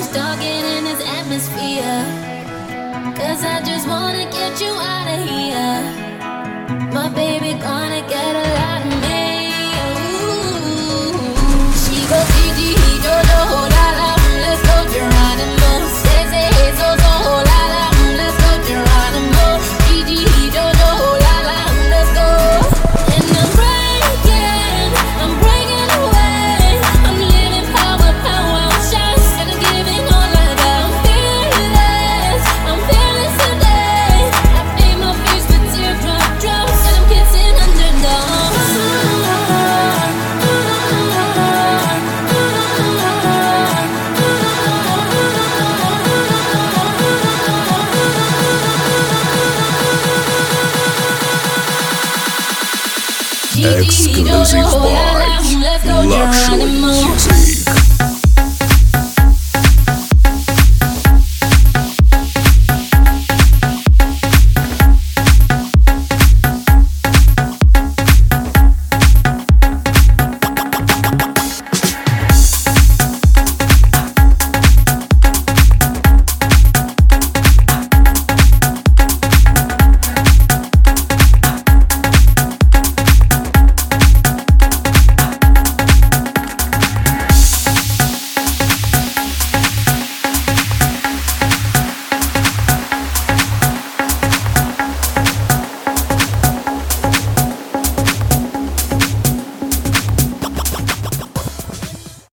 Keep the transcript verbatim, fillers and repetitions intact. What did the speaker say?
stuck in this atmosphere. Cause I just wanna get you out of here. My baby gonna get a lot of me. Ooh. She goes Gigi, Jojo, la la, let's go Geronimo. Say, say, hey, so, so, la la, let's go Geronimo. Gigi, Jojo, la la, let's go. And I'm breaking, I'm breaking away. I'm living power, power, I'm shots, and I'm giving all I got. I'm fearless, I'm fearless today. I paint my face with teardrop drops, and I'm kissing underdogs. Exclusive by